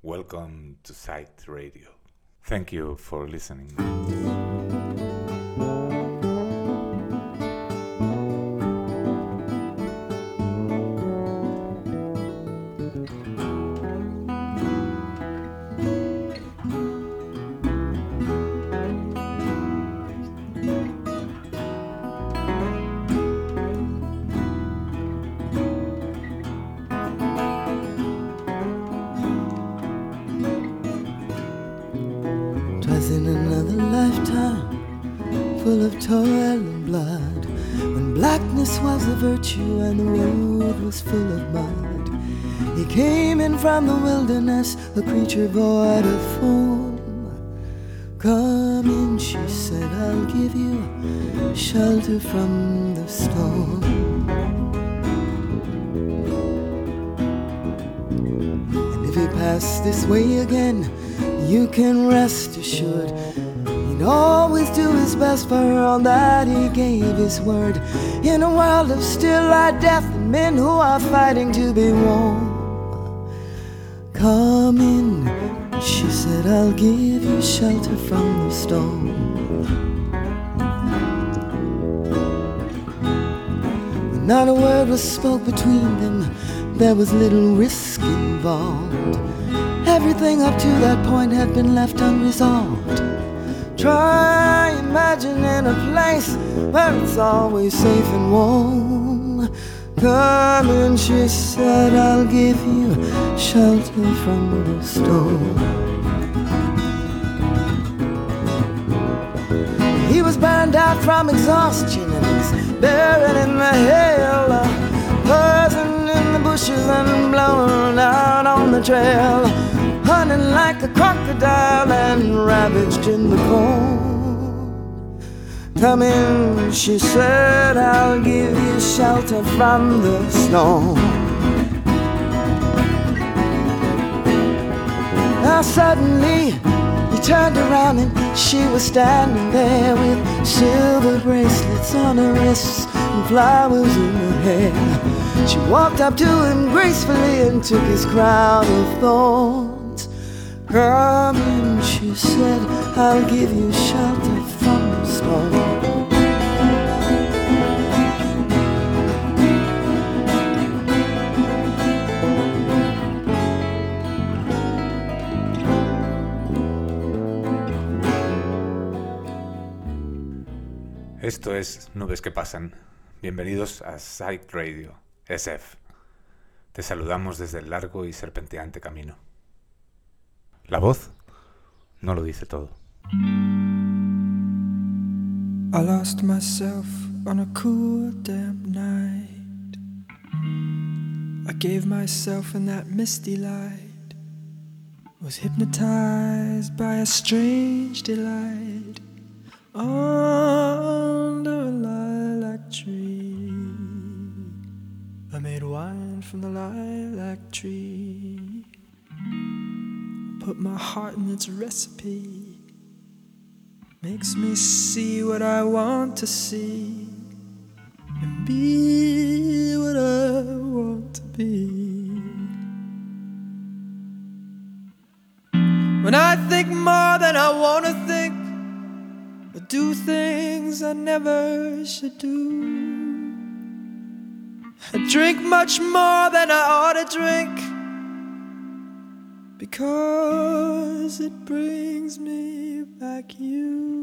Welcome to Sight Radio. Thank you for listening. In another lifetime, full of toil and blood, when blackness was a virtue and the road was full of mud, he came in from the wilderness, a creature void of form. Come in, she said, I'll give you shelter from the storm. And if he passed this way again, you can rest assured he'd always do his best for all that he gave his word. In a world of still light, death, and men who are fighting to be warm. Come in, she said, I'll give you shelter from the storm. When not a word was spoke between them, there was little risk involved. Everything up to that point had been left unresolved. Try imagining a place where it's always safe and warm. Come in, she said, I'll give you shelter from the storm. He was burned out from exhaustion and he's buried in the hail, buzzing in the bushes and blown out on the trail, hunting like a crocodile and ravaged in the corn. Come in, she said, I'll give you shelter from the storm. Now suddenly he turned around and she was standing there with silver bracelets on her wrists and flowers in her hair. She walked up to him gracefully and took his crown of thorns. Come in, she said, I'll give you shelter from the storm. Esto es Nubes que Pasan. Bienvenidos a Sight Radio, SF. Te saludamos desde el largo y serpenteante camino. La voz no lo dice todo. I lost myself on a cool, damp night. I gave myself in that misty light. Was hypnotized by a strange delight. Under a lilac tree, I made wine from the lilac tree. Put my heart in its recipe. Makes me see what I want to see and be what I want to be. When I think more than I want to think, I do things I never should do. I drink much more than I ought to drink, because it brings me back you.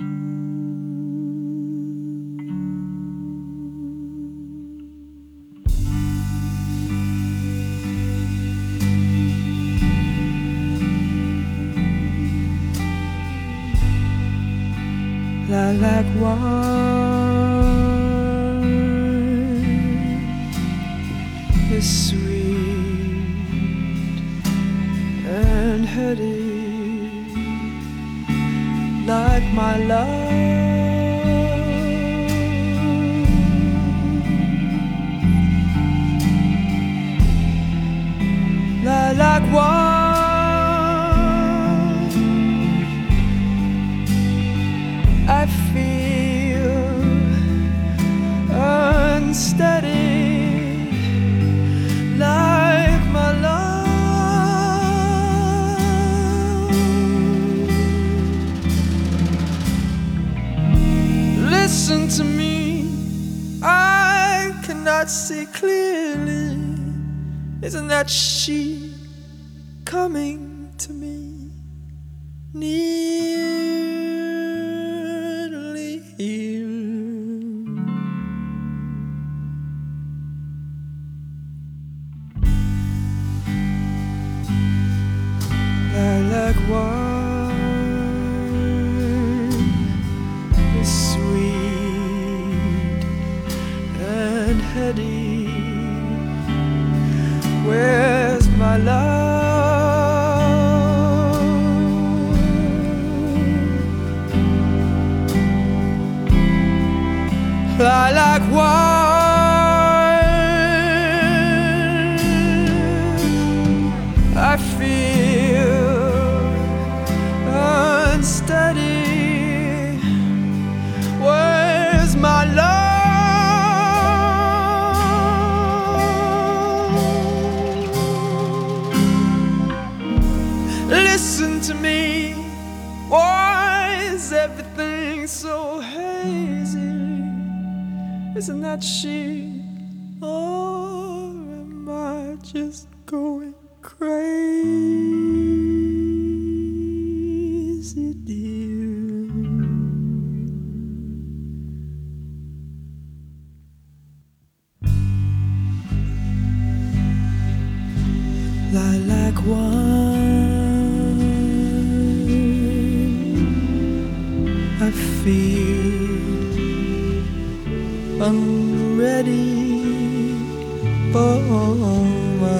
Lilac wine is sweet and heady, like my love. Lilac wine, I feel unsteady, like my love. cannot see clearly. Isn't that she coming to me? Nearly here. Lilac wine is sweet and heady. Where's my love? Lilac wine, I feel unsteady. Where's my love? Listen to me. Why is everything so hazy? Isn't that she? Or am I just going crazy, dear? Lilac wine, I feel I'm ready for my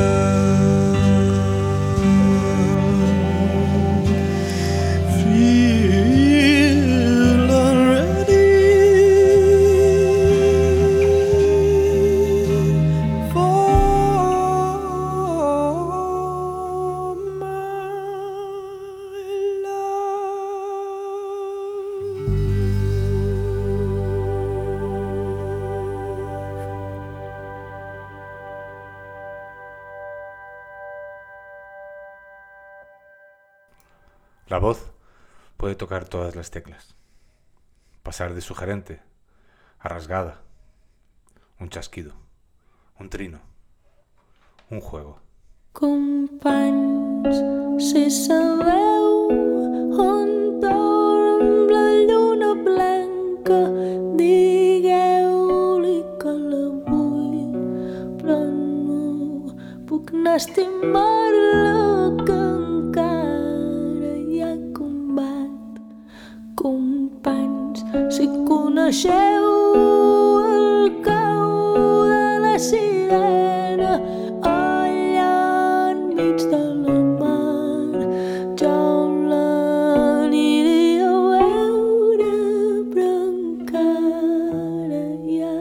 love. Feel unready for my La voz puede tocar todas las teclas, pasar de sugerente a rasgada, un chasquido, un trino, un juego. Companys, si sabeu on dorm la lluna blanca, digueu-li que la vull, però no puc anar a estimar-la, que encara hi ha combat. Companys, si coneixeu el cau de la sirena allà enmig de la mar, jo l'aniria a veure, però encara hi ha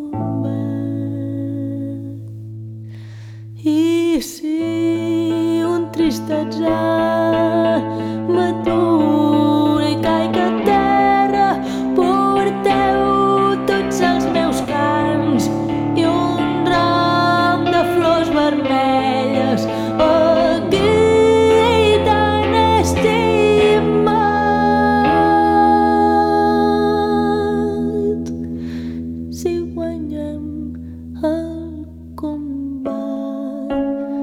combat. I si un trist atzar m'atura i caic a terra, porteu tots els meus cants i un ram de flors vermelles aquí tan estimat. Si guanyem el combat,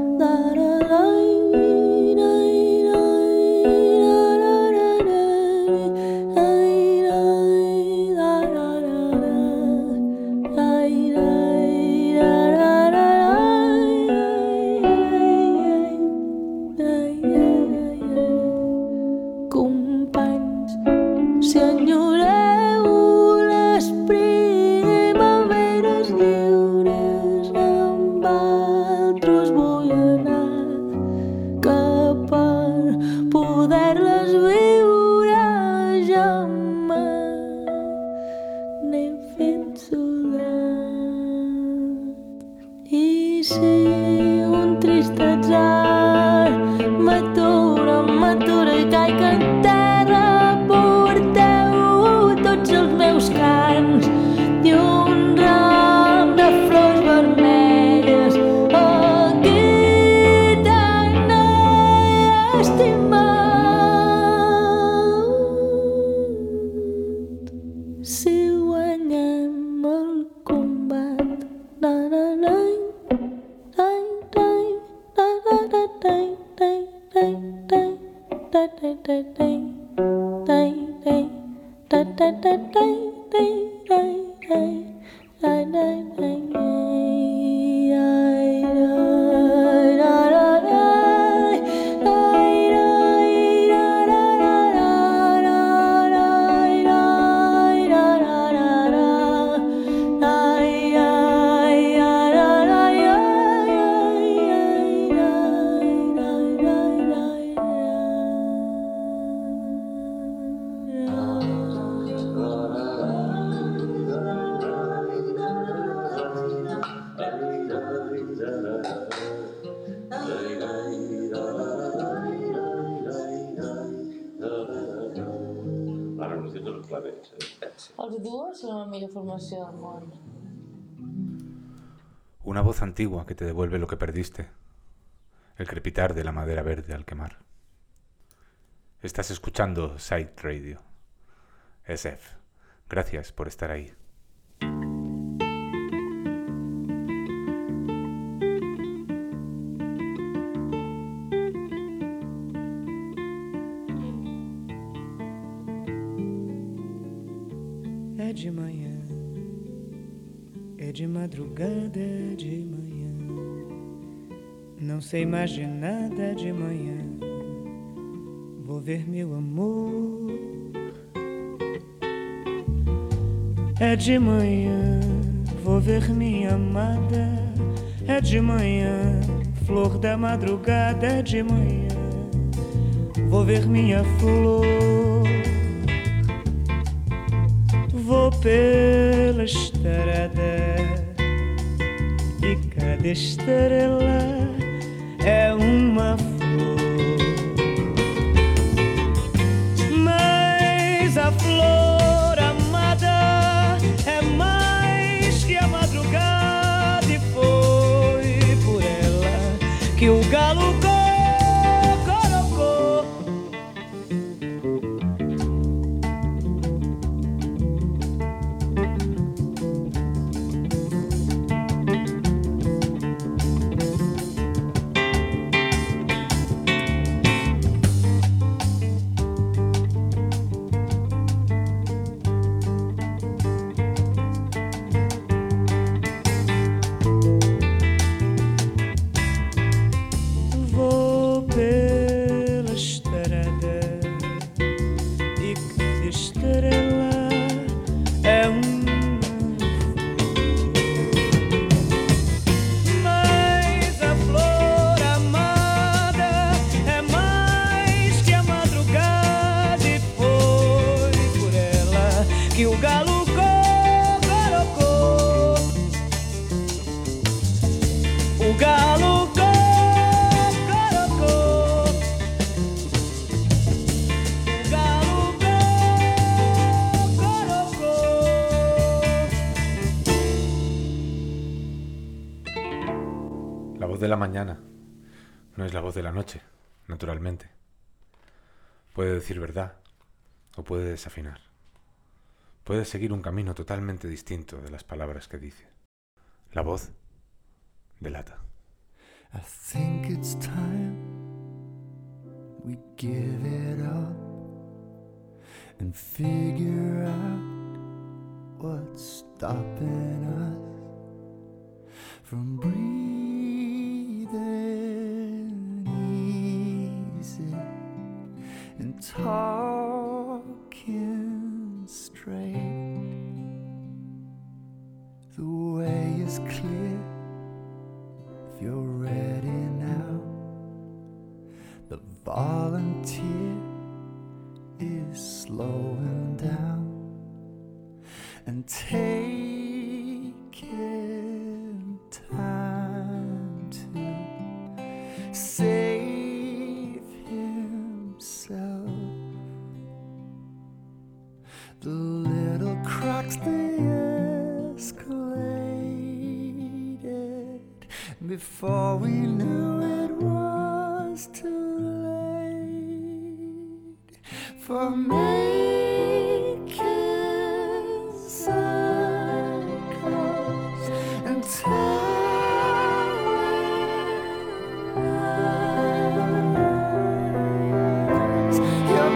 companys, si enyoreu les primaveres lliures, amb altres vull anar, que per poder-les viure ja n'he fet soldat. I si un trist atzar m'atura i caic en terra, porteu tots els meus cants i un ram de flors vermelles aquí tan Els duos són la millor formació del món. Una voz antigua que te devuelve lo que perdiste. El crepitar de la madera verde al quemar. Estás escuchando Psyched Radio. SF. Gracias por estar ahí. É de manhã, é de madrugada, é de manhã. Não sei mais de nada de manhã. Vou ver meu amor. É de manhã, vou ver minha amada. É de manhã, flor da madrugada. É de manhã, vou ver minha flor. Vou pela estrada e cada estrela é uma flor. Mas a flor amada é mais que a madrugada, e foi por ela que o galo cocorocou. Que o galo cocorocou. O galo cocorocou. O galo cocorocou. La voz de la mañana no es la voz de la noche, naturalmente. Puede decir verdad o puede desafinar. Puede seguir un camino totalmente distinto de las palabras que dice. La voz delata. I think it's time we give it up and figure out what's stopping us from breathing easy and talking straight. The way is clear if you're ready now. The volunteer is slowing down and taking time to save himself. The little cracks they escalated before we knew it was too late for making circles and telling lies. Your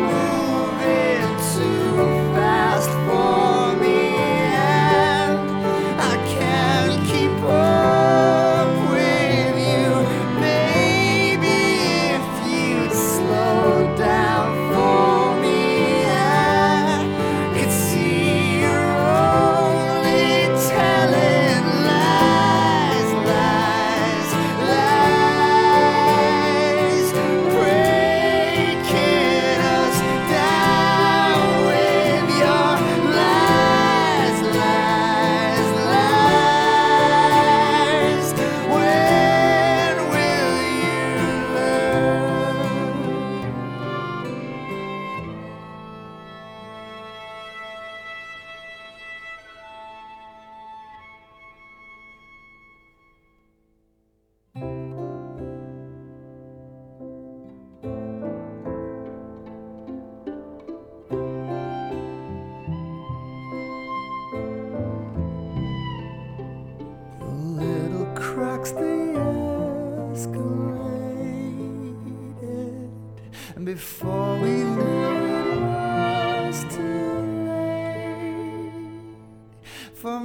And before we knew it was too late for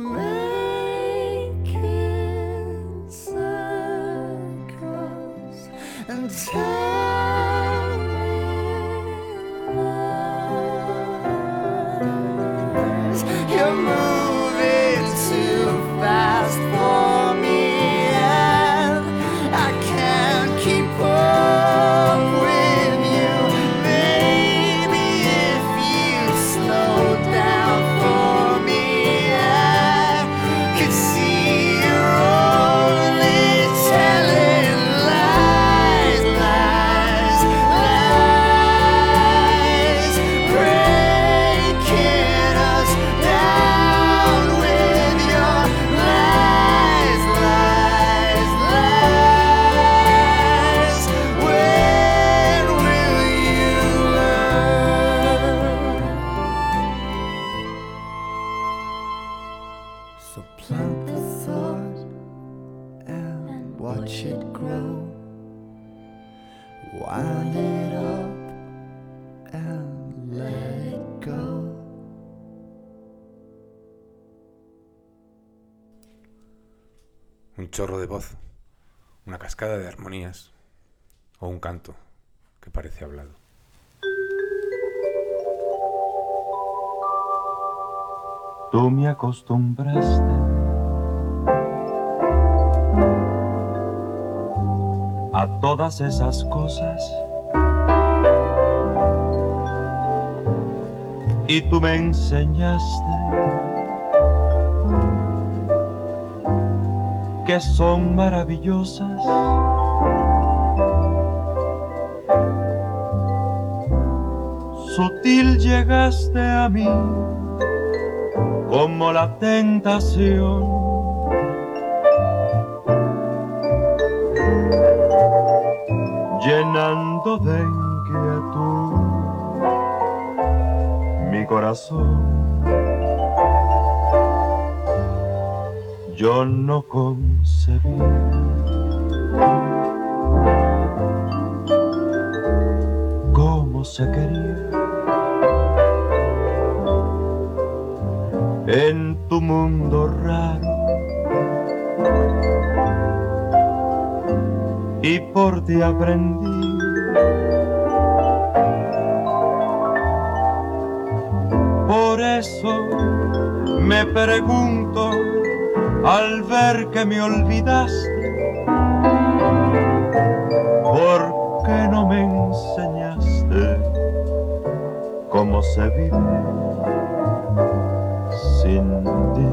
making circles and telling lies. You're moving too fast for me, and I can't keep up with you. Maybe if you slowed down for me, I could see you're only telling lies, lies, lies, breaking us down with your lies, lies, lies. When will you learn? So plant the thought and watch it grow. Wind it up and let it go. Un chorro de voz, una cascada de armonías o un canto que parece hablado. Tú me acostumbraste a todas esas cosas y tú me enseñaste que son maravillosas. Sutil llegaste a mí como la tentación, llenando de inquietud mi corazón. Yo no concebía cómo se quería en tu mundo raro, y por ti aprendí por eso me pregunto al ver que me olvidaste, ¿por qué no me enseñaste cómo se vive sin ti?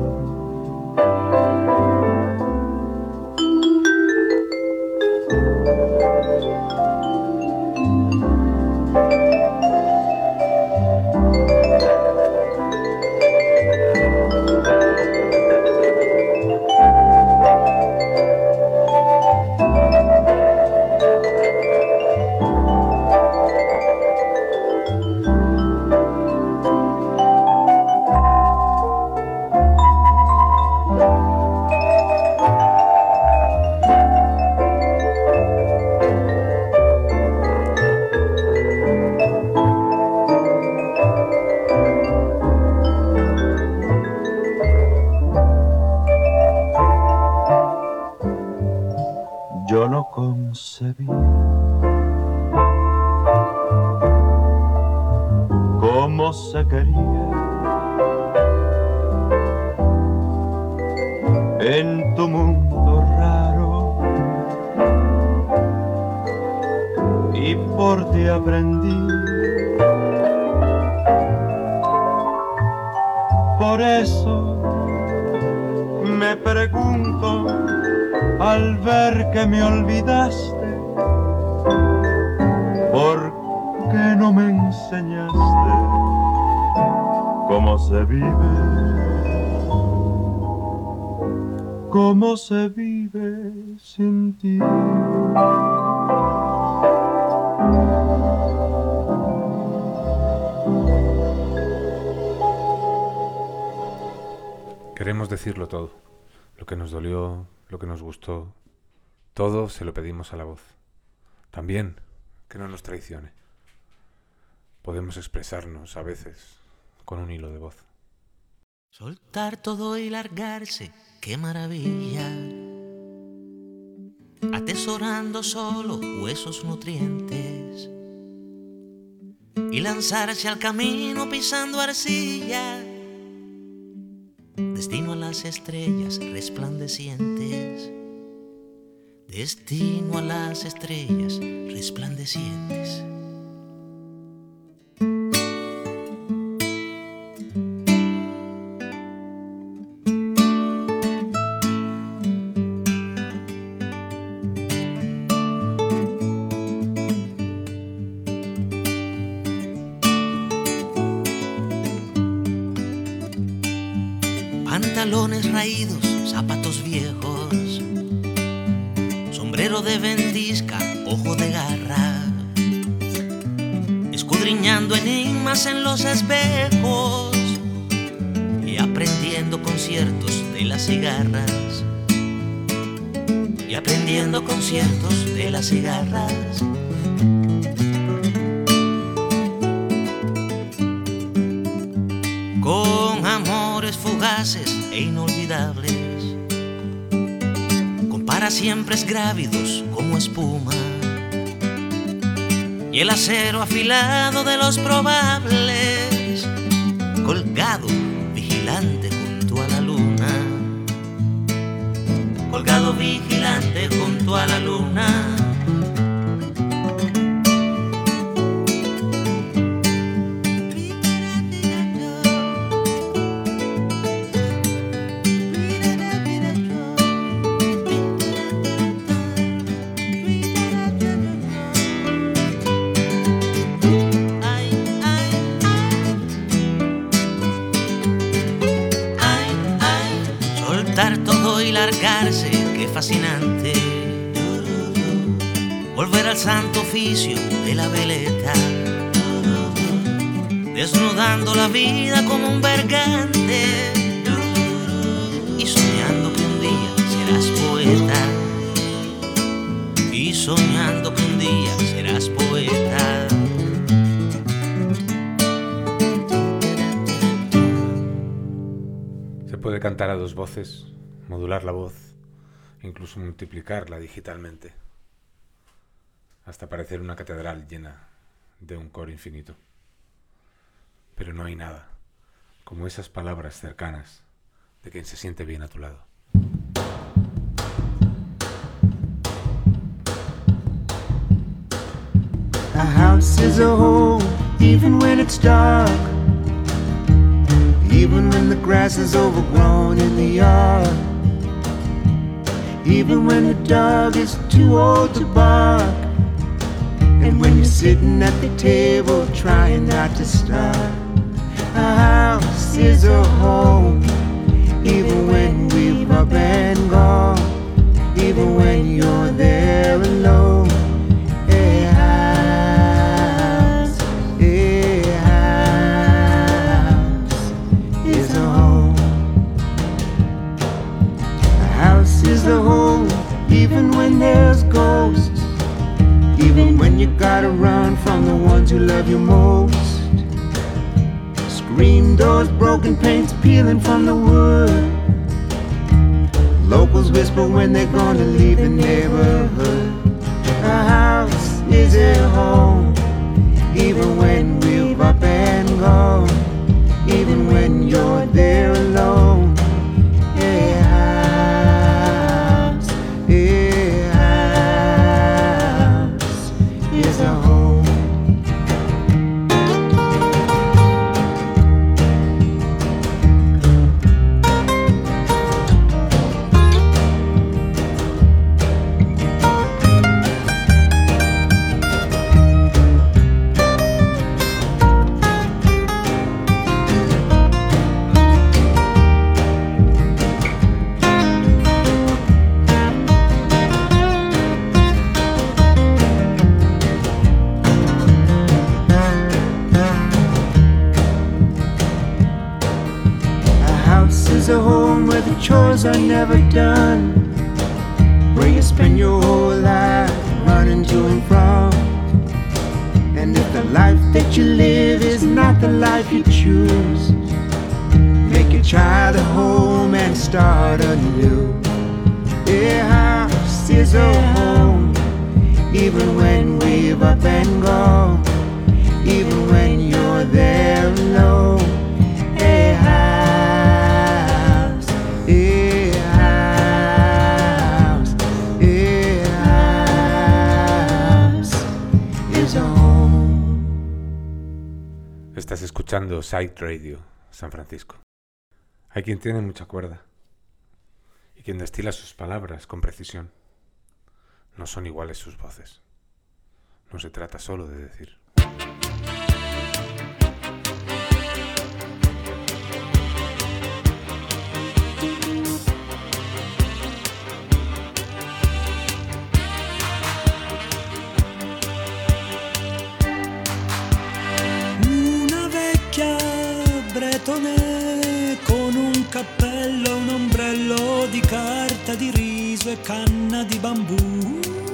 Yo no concebía cómo se quería en tu mundo raro, y por ti aprendí. Por eso me pregunto al ver que me olvidaste, ¿por qué no me enseñaste cómo se vive? ¿Cómo se vive sin ti? Queremos decirlo todo, lo que nos dolió, lo que nos gustó, todo se lo pedimos a la voz. También que no nos traicione. podemos expresarnos a veces con un hilo de voz. Soltar todo y largarse, qué maravilla. Atesorando solo huesos nutrientes y lanzarse al camino pisando arcilla. Destino a las estrellas resplandecientes. Destino a las estrellas resplandecientes. Pantalones raídos, zapatos viejos, sombrero de ventisca, ojo de garra, escudriñando enigmas en los espejos y aprendiendo conciertos de las cigarras, y aprendiendo conciertos de las cigarras. Con amores fugaces e inolvidables, con para siempre grávidos como espuma, y el acero afilado de los probables, colgado vigilante junto a la luna, colgado vigilante junto a la luna. Todo y largarse, qué fascinante. Volver al santo oficio de la veleta, desnudando la vida como un bergante y soñando que un día serás poeta, y soñando que un día serás poeta. Se puede cantar a dos voces, modular la voz, incluso multiplicarla digitalmente, hasta parecer una catedral llena de un coro infinito. Pero no hay nada como esas palabras cercanas de quien se siente bien a tu lado. A house is a home, even when it's dark, even when the grass is overgrown in the yard, even when the dog is too old to bark, and when you're sitting at the table trying not to starve. A house is a home, even when we've up and gone, even when you're there alone. A house is a home. A house is a home, even when there's ghosts, even when you gotta run from the ones who love you most. Screen doors, broken paints peeling from the wood. Locals whisper when they're gonna leave the neighborhood. A house is a home, even when we've up and gone, even when you're there alone. A house is a home. A home where the chores are never done, where you spend your whole life running to and from. And if the life that you live is not the life you choose. Make you try the home and start anew. A house is a home, even when we've up and gone, even when you're there alone. A house, a house, a house is a home. Estás escuchando Psych Radio, San Francisco. Hay quien tiene mucha cuerda y quien destila sus palabras con precisión. No son iguales sus voces. No se trata solo de decir. Una vecchia bretone con un cappello, un ombrello di carta di riso e canna di bambù.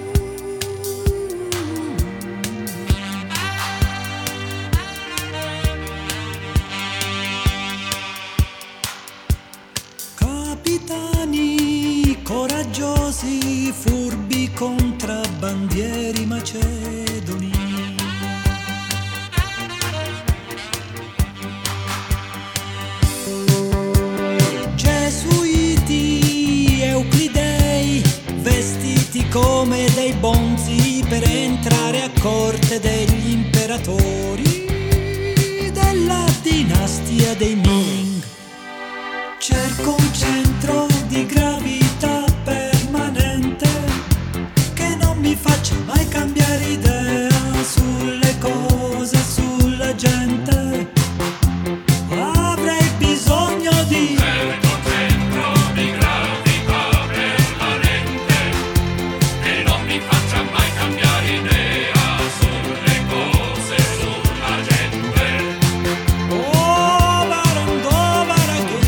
Capitani coraggiosi, furbi contrabbandieri macedoni. Gesuiti, euclidei, vestiti come dei bonzi per entrare a corte degli imperatori della dinastia dei Ming. Cerco un centro di gravità permanente che non mi faccia mai cambiare idea sulle cose, sulla gente. Avrei bisogno di cerco un centro di gravità permanente che non mi faccia mai cambiare idea sulle cose, sulla gente. Oh, barandò, baraghe.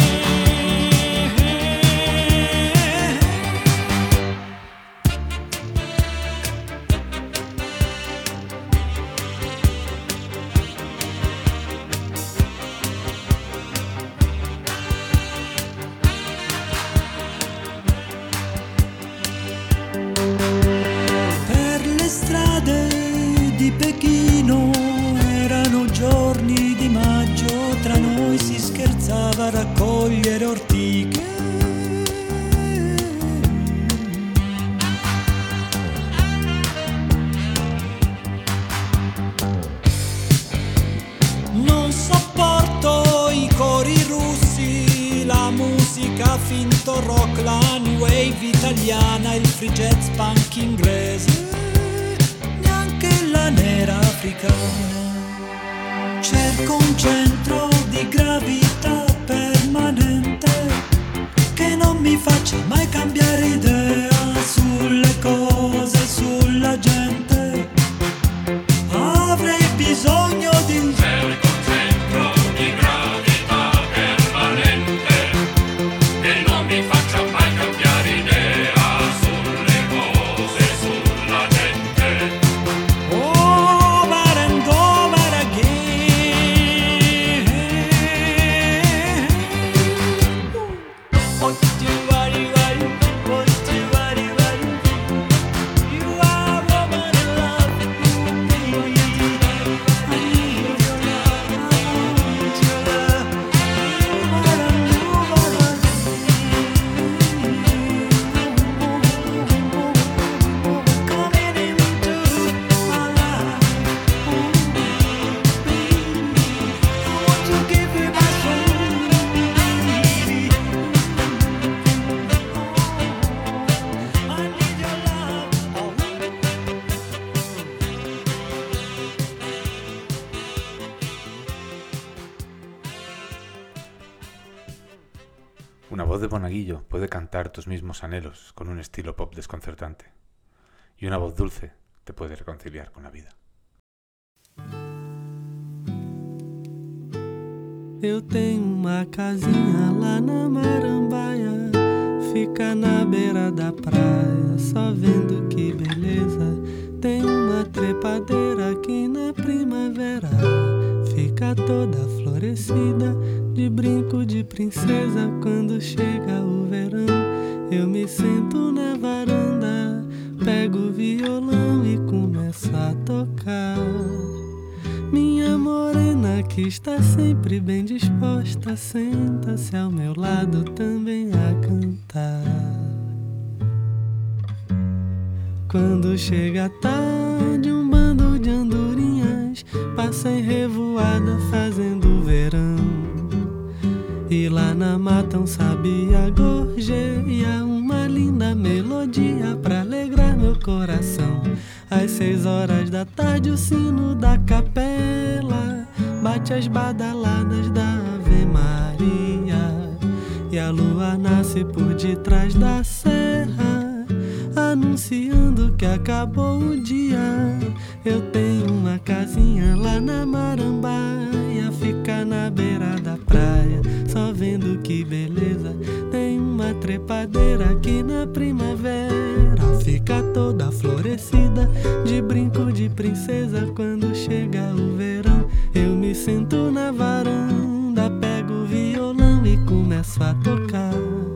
Per le strade di Pechino erano giorni di maggio, tra noi si scherzava a raccogliere ortiche. Non sopporto i cori russi, la musica finto rock, la new wave italiana, il free jazz punk inglese, neanche la nera africana. Cerco un centro di gravità permanente che non mi faccia mai cambiare idea sulle cose, sulla gente. Avrei bisogno di cerco un centro di gravità permanente che non mi faccia mai cambiare idea sulle cose, sulla gente. Oh, barandò, baraghe. You are woman in love with me. I need your love, I want your love. Coming into my life. I want to give you my soul, baby. I need your love. Una voz de monaguillo puede cantar tus mismos anhelos con un estilo pop desconcertante. Y una voz dulce te puede reconciliar con la vida. Eu tenho uma casinha lá na Marambaia, fica na beira da praia, só vendo que beleza. Tem uma trepadeira que na primavera fica toda florescida, de brinco de princesa. Quando chega o verão, eu me sento na varanda, pego o violão e começo a tocar. Minha morena que está sempre bem disposta, senta-se ao meu lado também a cantar. Quando chega a tarde, um bando de andorinhas passa em revoada fazendo verão. E lá na mata um sabiá gorjeia uma linda melodia pra alegrar meu coração. Às 6 horas da tarde o sino da capela bate as badaladas da Ave Maria. E a lua nasce por detrás da serra, anunciando que acabou o dia. Eu tenho uma casinha lá na Marambaia, fica na beira da praia, só vendo que beleza. Tem uma trepadeira aqui na primavera, fica toda florescida, de brinco de princesa. Quando chega o verão, eu me sento na varanda, pego o violão e começo a tocar.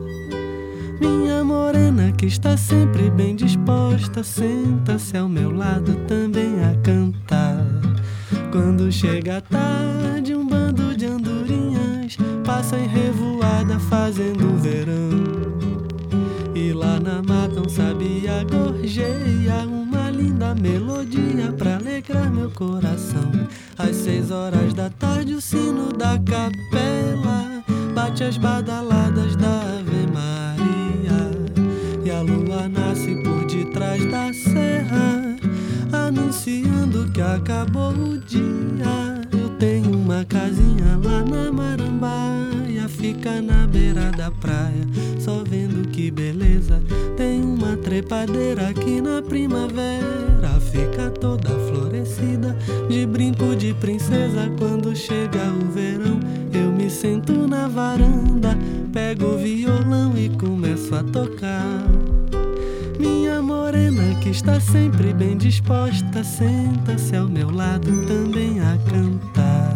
Minha morena que está sempre bem disposta, senta-se ao meu lado também a cantar. Quando chega a tarde, um bando de andorinhas passa em revoada fazendo verão. E lá na mata um sabiá gorjeia uma linda melodia pra alegrar meu coração. Às 6 horas da tarde o sino da capela bate as badaladas da Ave Maria. E a lua nasce por detrás da serra, anunciando que acabou o dia. Eu tenho uma casinha lá na Marambaia, fica na beira da praia, só vendo que beleza. Tem uma trepadeira aqui na primavera, fica toda florescida, de brinco de princesa. Quando chega o verão, eu me sento na varanda, pego o violão e começo a tocar. Minha morena que está sempre bem disposta, senta-se ao meu lado também a cantar.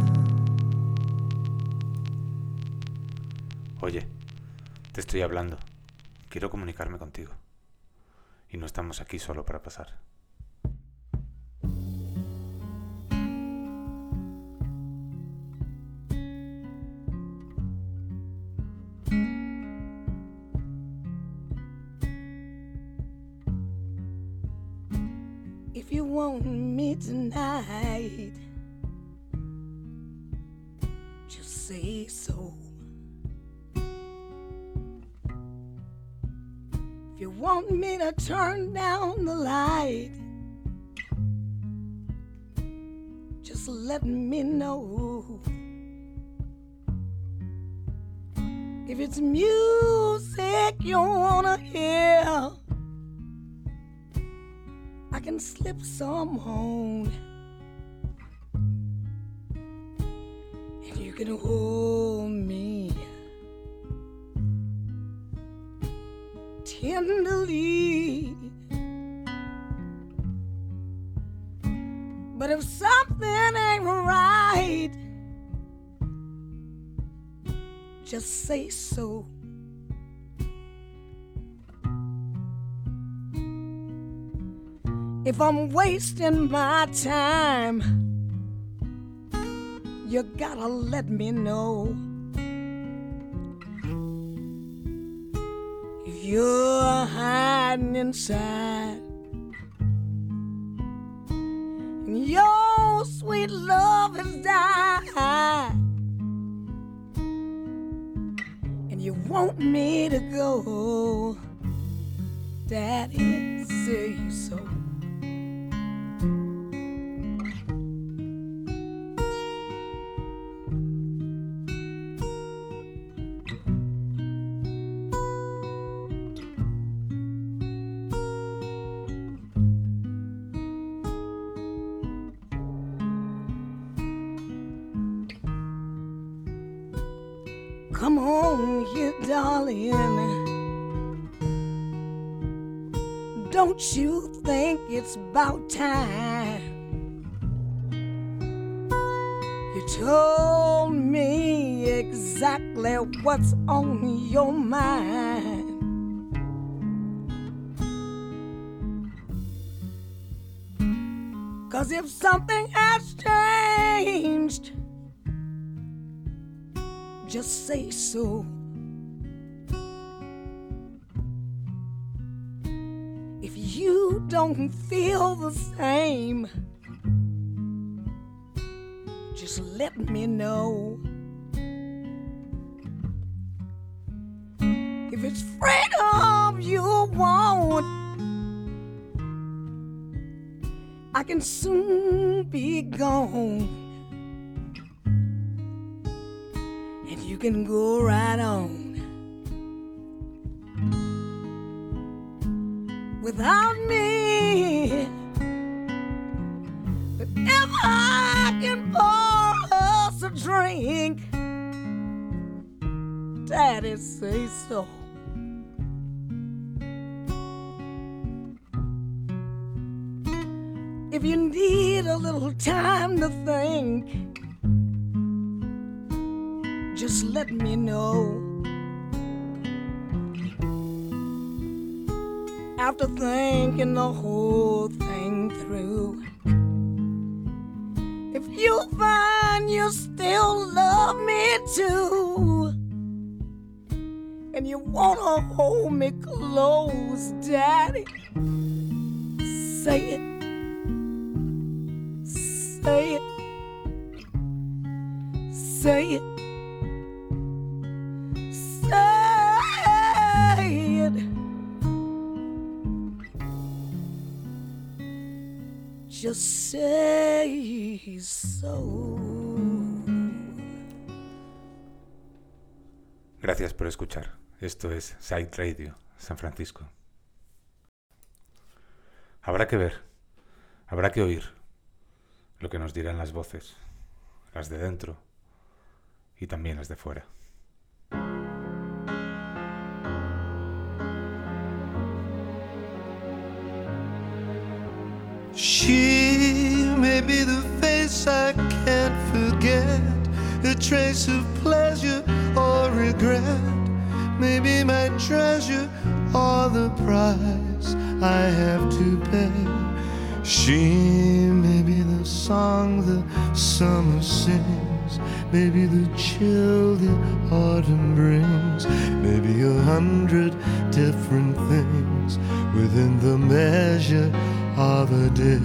Oye, te estoy hablando. Quiero comunicarme contigo. Y no estamos aquí solo para pasar. If you want me tonight, just say so. If you want me to turn down the light, just let me know. If it's music you wanna hear, I can slip some on, and you can hold me tenderly. But if something ain't right, just say so. If I'm wasting my time, you gotta let me know. If you're hiding inside and your sweet love has died, and you want me to go, Daddy, say so. Come on here, darling. Don't you think it's about time? told me exactly what's on your mind. Cause if something has changed, just say so. If you don't feel the same, just let me know. If it's freedom you want, I can soon be gone, and you can go right on without me. But if I can pour us a drink, Daddy say so. If you need a little time to think, just let me know. After thinking the whole thing through, if you find you still love me too, and you wanna hold me close, Daddy, say it. Say it, say it, say it. Just say so. Gracias por escuchar. Esto es Psych Radio, San Francisco. Habrá que ver, habrá que oír lo que nos dirán las voces, las de dentro y también las de fuera. She may be the face I can't forget, a trace of pleasure or regret, maybe my treasure or the price I have to pay. She may be the song the summer sings, maybe the chill the autumn brings, maybe 100 different things within the measure of a day.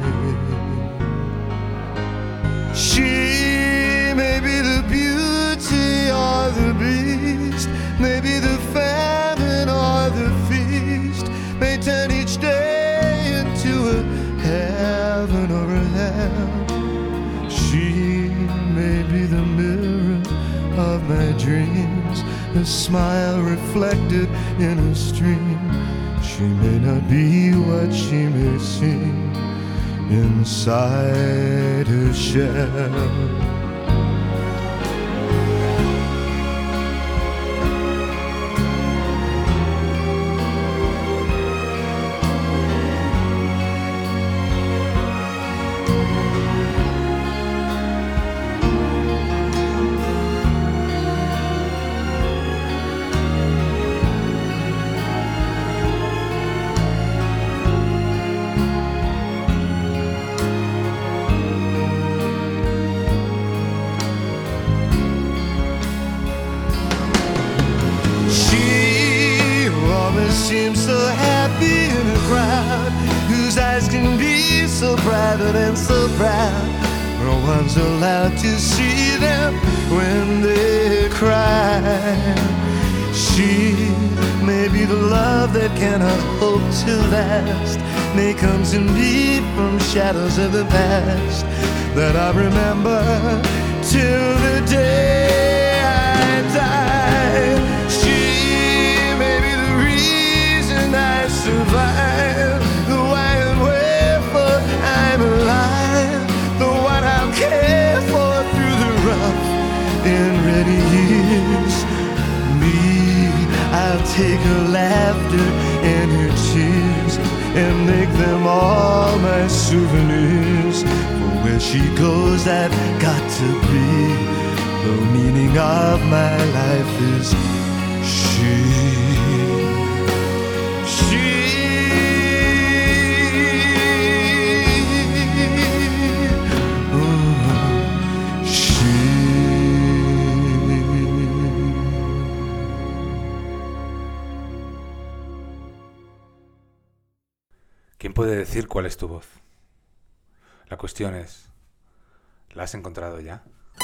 She may be the beauty or the beast, maybe the famine or the feast, may turn each day into a heaven or a hell. She may be the mirror of my dreams, a smile reflected in a stream. She may not be what she may seem inside her shell. Seems so happy in a crowd whose eyes can be so private and so proud. No one's allowed to see them when they cry. She may be the love that cannot hope to last, may come to me from shadows of the past that I remember till the day I die. I survive, the why and wherefore I'm alive, the one I'll care for through the rough and ready years. Me, I'll take her laughter and her tears and make them all my souvenirs. For where she goes, I've got to be. The meaning of my life is she. ¿Quién puede decir cuál es tu voz? La cuestión es, ¿la has encontrado ya?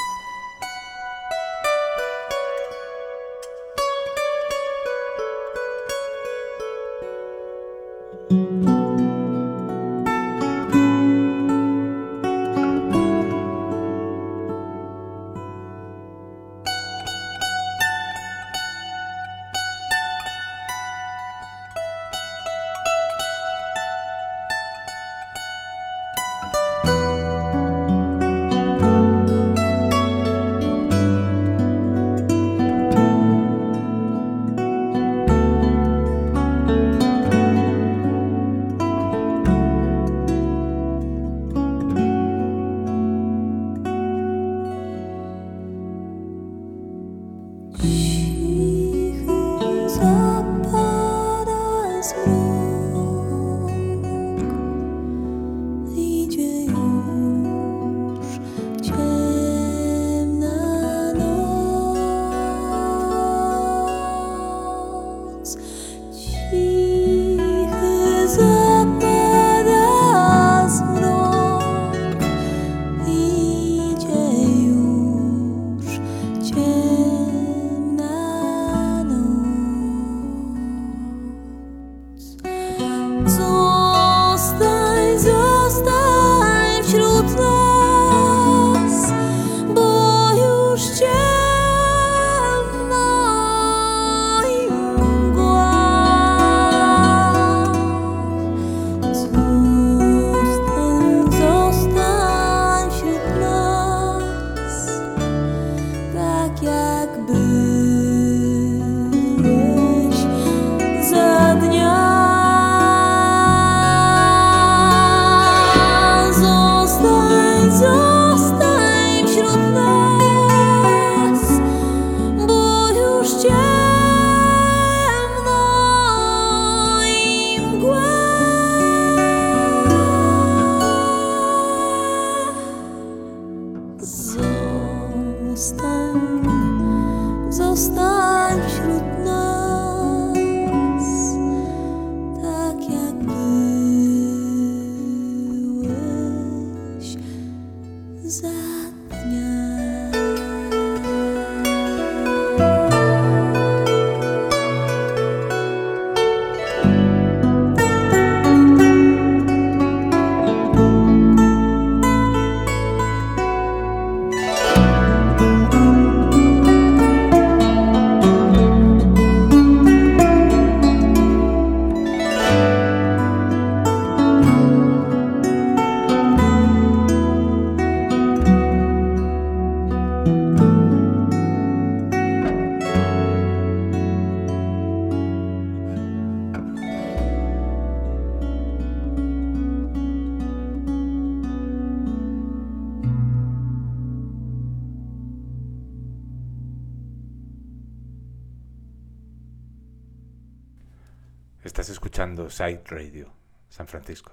Estás escuchando Psych Radio, San Francisco.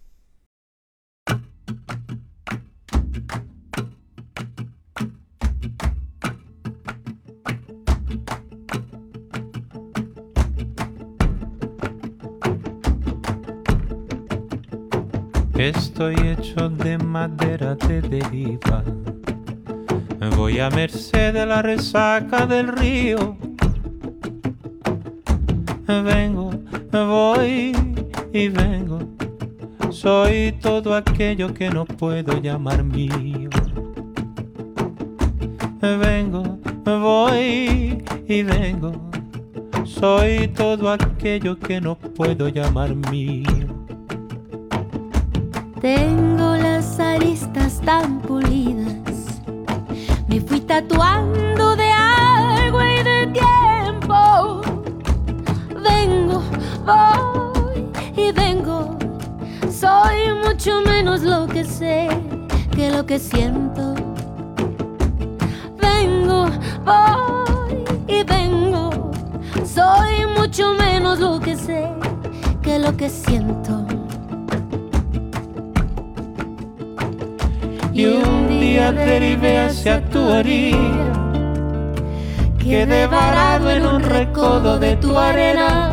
Estoy hecho de madera de deriva. Voy a merced de la resaca del río. Vengo, voy y vengo. Soy todo aquello que no puedo llamar mío. Vengo, voy y vengo. Soy todo aquello que no puedo llamar mío. Tengo las aristas tan pulidas, me fui tatuando de agua y de tiempo. Vengo, voy y vengo, soy mucho menos lo que sé que lo que siento. Vengo, voy y vengo. Soy mucho menos lo que sé que lo que siento. Y un día derivé hacia tu orilla, quedé varado en un recodo de tu arena.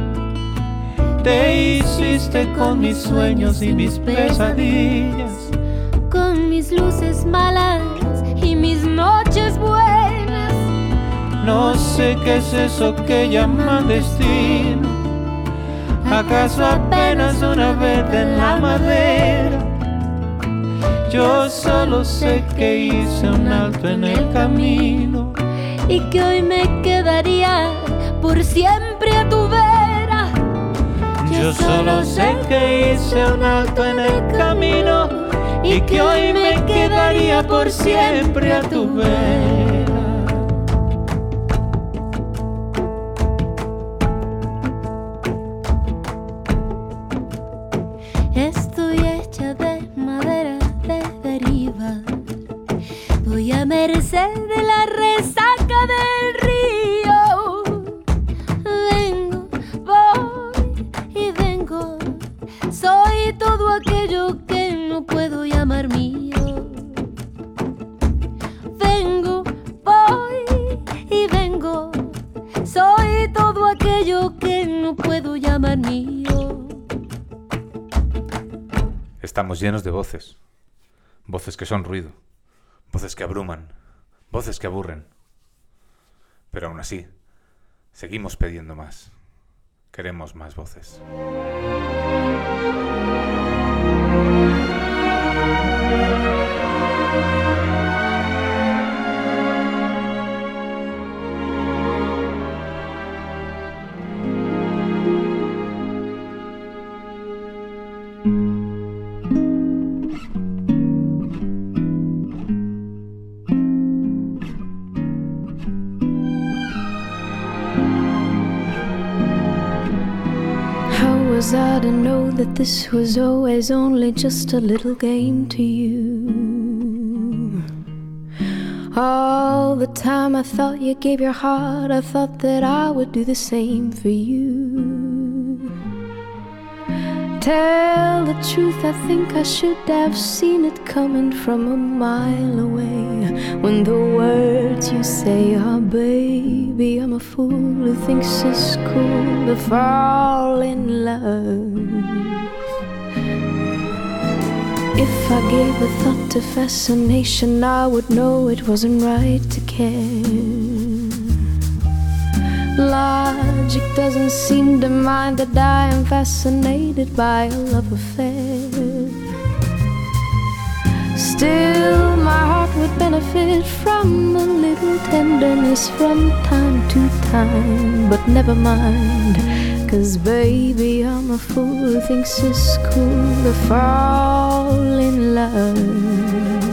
Te hiciste con mis sueños y mis pesadillas, con mis luces malas y mis noches buenas. No sé qué es eso que llaman destino. ¿Acaso apenas una vez en la madera? Yo solo sé que hice un alto en el camino y que hoy me quedaría por siempre a tu vera. Yo solo sé que hice un alto en el camino y que hoy me quedaría por siempre a tu vera. Estoy hecha de madera de deriva, voy a merced de la resaca del río. Vengo, voy y vengo, soy todo aquello que no puedo llamar mío. Vengo, voy y vengo, soy todo aquello que no puedo llamar mío. Estamos llenos de voces. Voces que son ruido. Voces que abruman. Voces que aburren. Pero aún así, seguimos pidiendo más. Queremos más voces. Was I to know that this was always only just a little game to you? All the time I thought you gave your heart, I thought that I would do the same for you. Tell the truth, I think I should have seen it coming from a mile away. When the words you say are, baby, I'm a fool who thinks it's cool to fall in love. If I gave a thought to fascination, I would know it wasn't right to care. Logic doesn't seem to mind that I am fascinated by a love affair. Still, my heart would benefit from a little tenderness from time to time. But never mind, 'cause baby, I'm a fool who thinks it's cool to fall in love.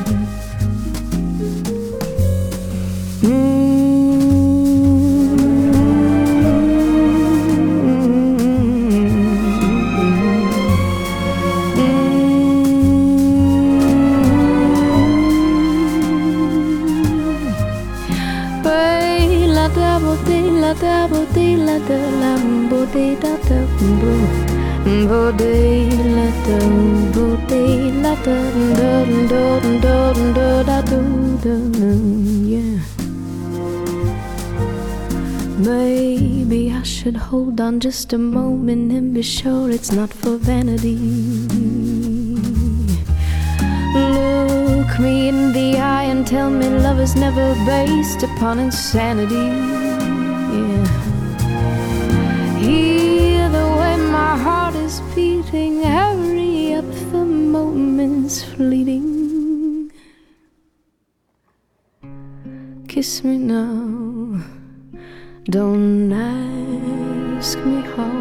Da bo de la da la bo de da da bo de la da bo de la da da da yeah. Maybe I should hold on just a moment and be sure it's not for vanity. Look me in the eye and tell me love is never based upon insanity. Hear the way my heart is beating, hurry up, the moment's fleeting. Kiss me now, don't ask me how,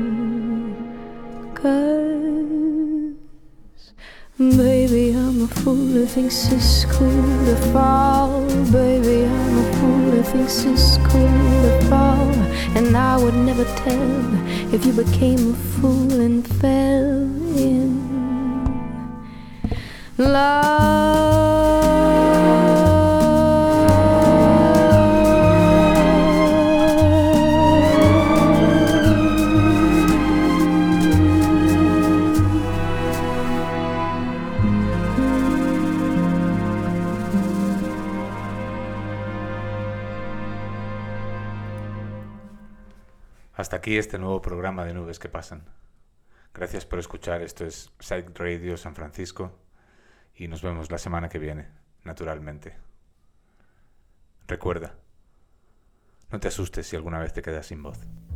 'cause baby, I'm a fool who thinks it's cool to fall. Baby, I'm a fool who thinks it's cool to fall. And I would never tell if you became a fool and fell in. Hasta aquí este nuevo programa de Nubes que Pasan. Gracias por escuchar, esto es Psych Radio San Francisco y nos vemos la semana que viene, naturalmente. Recuerda, no te asustes si alguna vez te quedas sin voz.